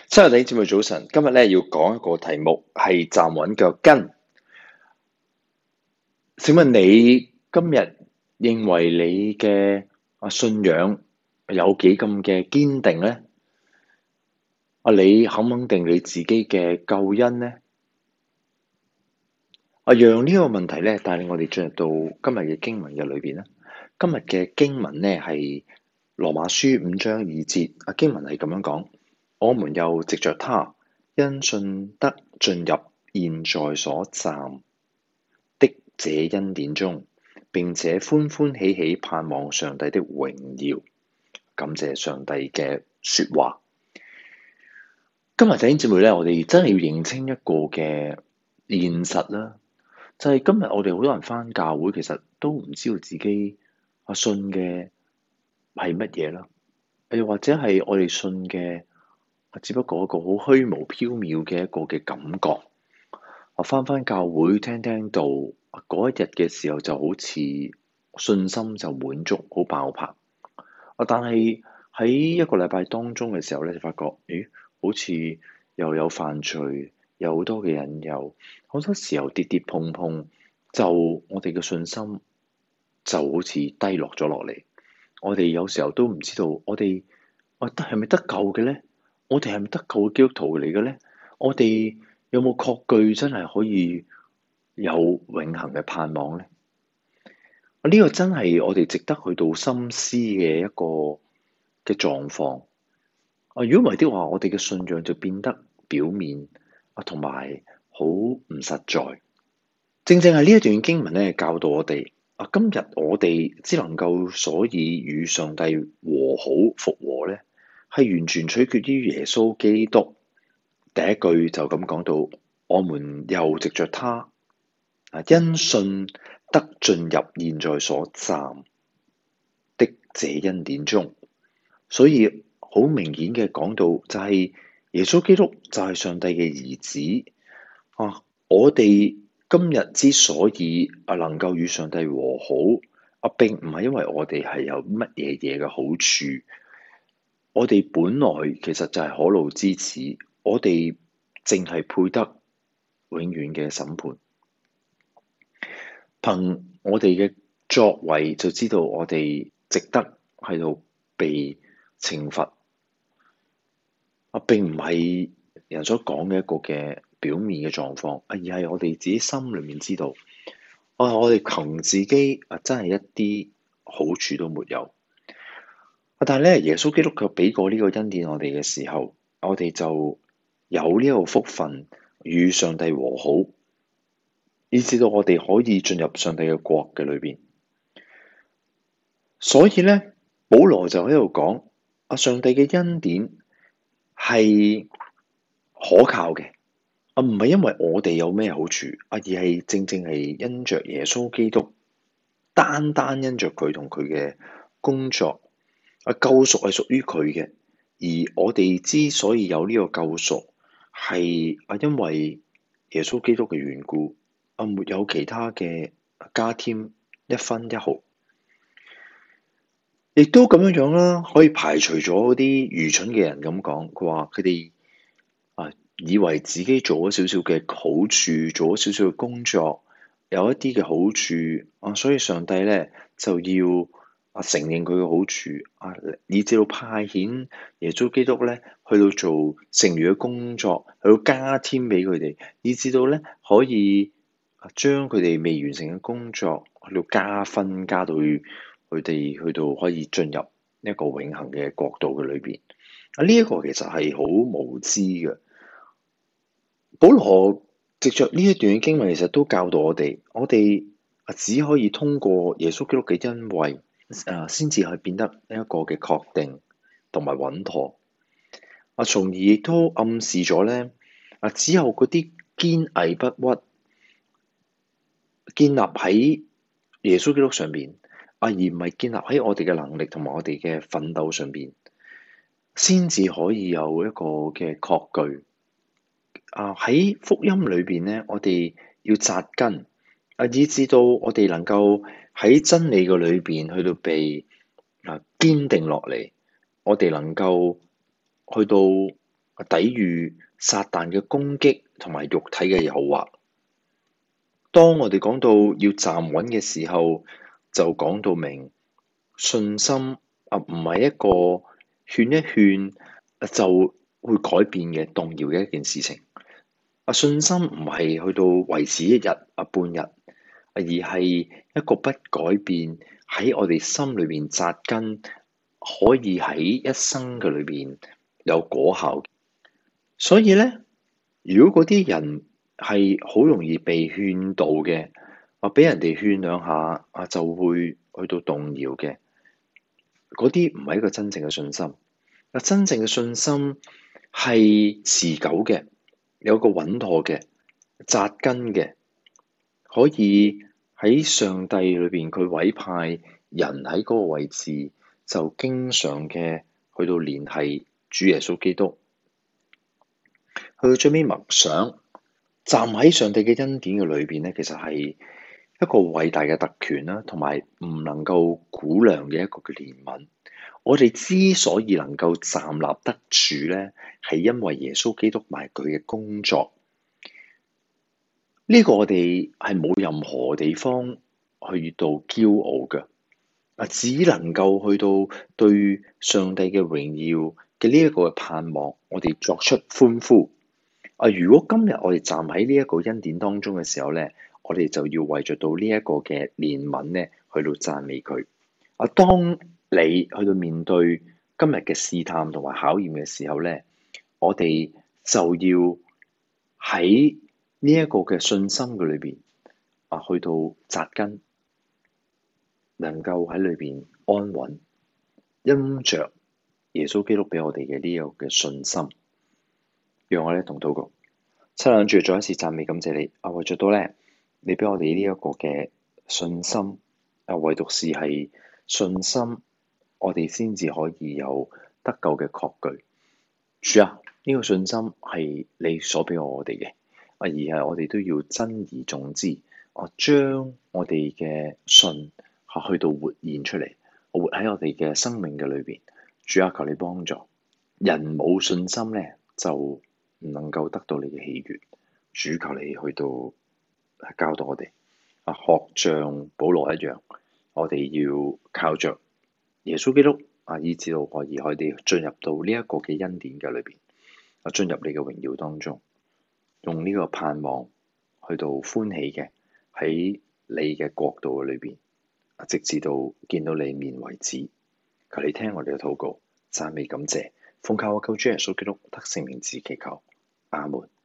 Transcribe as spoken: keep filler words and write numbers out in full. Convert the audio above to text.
親愛的姊妹早晨，今日咧要講一個題目係站穩腳跟。請問你今日認為你嘅啊信仰有幾咁嘅堅定呢？啊，你肯唔肯定你自己嘅救恩呢？啊，讓呢個問題咧帶領我哋進入到今日嘅經文嘅裏邊啦。今日嘅經文咧係羅馬書五章二節，啊經文係咁樣講：我們又藉着他，因信得進入現在所站的這恩典中，並且歡歡喜喜盼望上帝的榮耀。感謝上帝嘅說話。今日弟兄姊妹咧，我哋真係要認清一個嘅現實啦，就係、是、今日我哋好多人返教會，其實都唔知道自己啊信嘅係乜嘢啦，又或者係我哋信嘅只不過一個好虛無縹緲嘅一個嘅感覺。我返返教會聽聽到嗰一日嘅時候，就好似信心就滿足，好爆棚。啊！但係喺一個禮拜當中嘅時候咧，就發覺，咦，好似又有犯罪，有好多嘅引誘，好多時候跌跌碰碰，就我哋嘅信心就好似低落咗落嚟。我哋有時候都唔知道，我哋我得係咪得救嘅咧？我哋係咪得救嘅基督徒嚟嘅咧？我哋有冇確據真係可以有永恆嘅盼望咧？呢個真係我哋值得去到深思嘅一個嘅狀況。啊，如果唔係的話，我哋嘅信仰就變得表面啊，同埋好唔實在。正正係呢一段經文咧，教導我哋啊，今日我哋只能夠所以與上帝和好復和咧，係完全取決於耶穌基督。第一句就咁講到，我們又藉着他啊，因信得進入現在所站的這恩典中。所以好明顯嘅講到，就係耶穌基督就係上帝嘅兒子啊！我哋今日之所以啊能夠與上帝和好啊，並唔係因為我哋係有乜嘢嘢嘅好處，我哋本來其實就係可怒之子，我哋淨係配得永遠嘅審判。憑我哋嘅作為就知道我哋值得喺度被懲罰啊，並唔係人所講嘅一個嘅表面嘅狀況，而係我哋自己心裏面知道，啊，我哋憑自己啊，真係一啲好處都沒有。但係咧，耶穌基督卻俾過呢個恩典我哋嘅時候，我哋就有呢個福分與上帝和好，以至到我哋可以進入上帝嘅國嘅裏邊。所以咧，保羅就喺度講啊，上帝嘅恩典係可靠嘅啊，唔係因為我哋有咩好處啊，而係正正係因着耶穌基督，單單因着佢同佢嘅工作啊，救贖係屬於佢嘅。而我哋之所以有呢個救贖，係啊，因為耶穌基督嘅緣故啊，沒有其他嘅加添一分一毫。亦都咁樣樣啦，可以排除咗啲愚蠢嘅人咁講，佢話佢哋啊以為自己做咗少少嘅好處，做咗少少嘅工作，有一啲嘅好處啊，所以上帝咧就要啊承認佢嘅好處啊，以至到派遣耶穌基督咧去到做剩餘嘅工作，去到加添俾佢哋，以至到咧可以啊將佢哋未完成嘅工作去到加分，加到去。佢哋去到可以進入一個永恆嘅國度嘅裏邊啊！呢、這、一個其實係好無知嘅。保羅藉着呢一段經文，其實都教導我哋，我哋啊只可以通過耶穌基督嘅恩惠啊，先至係變得一個嘅確定同埋穩妥啊，從而亦都暗示咗咧啊，只有嗰啲堅毅不屈、建立喺耶穌基督上邊。啊，而唔係建立喺我哋嘅能力同埋我哋嘅奮鬥上邊，先至可以有一個嘅確據。啊，喺福音裏邊咧，我哋要紮根，啊，以至到我哋能夠喺真理嘅裏邊去到被啊堅定落嚟，我哋能夠去到抵禦撒旦嘅攻擊同埋肉體嘅誘惑。當我哋講到要站穩嘅時候，就講到明信心啊，唔係一個勸一勸就會改變嘅動搖嘅一件事情。啊，信心唔係去到維持一日啊半日，而係一個不改變喺我哋心裏邊紮根，可以喺一生嘅裏邊有果效。所以咧，如果嗰啲人係好容易被勸導嘅，啊俾人哋勸兩下啊就會去到動搖嘅，嗰啲唔係一個真正嘅信心。啊，真正嘅信心係持久嘅，有個穩妥嘅紮根嘅，可以喺上帝裏邊佢委派人喺嗰個位置，就經常嘅去到聯繫主耶穌基督。去到最尾默想，站喺上帝嘅恩典嘅裏邊咧，其實係一個偉大嘅特權啦，同埋唔能夠估量嘅一個嘅憐憫。我哋之所以能夠站立得住咧，係因為耶穌基督埋佢嘅工作。呢個我哋係冇任何地方去到驕傲嘅，啊，只能夠去到對上帝嘅榮耀嘅呢一個盼望，我哋作出歡呼。啊！如果今日我哋站喺呢一個恩典當中嘅時候咧，我哋就要為著到呢一個嘅憐憫咧，去到讚美佢。啊！當你去到面對今日嘅試探同埋考驗嘅時候咧，我哋就要喺呢一個嘅信心嘅裏邊啊，去到紮根，能夠喺裏邊安穩，因着耶穌基督俾我哋嘅呢個嘅信心。讓我哋同禱告，親愛嘅主，再一次讚美感謝你。啊，為咗到咧，你俾我哋呢一個嘅信心，啊，唯獨是係信心，我哋先至可以有得救嘅確據。主啊，呢個信心係你所俾我哋嘅，啊，而係我哋都要珍而重之，啊，將我哋嘅信啊去到活現出嚟，活喺我哋嘅生命嘅裏邊。主啊，求你幫助。人冇信心咧，就唔能夠得到你嘅喜悅。主，求你去到教導我哋啊，學像保羅一樣，我哋要靠着耶穌基督啊，以至到可以可以進入到呢一個嘅恩典嘅裏邊啊，進入你嘅榮耀當中，用呢個盼望去到歡喜嘅喺你嘅國度嘅裏邊啊，直至到見到你面為止。求你聽我哋嘅禱告，讚美感謝，奉靠我救主耶穌基督得勝名字祈求，阿門。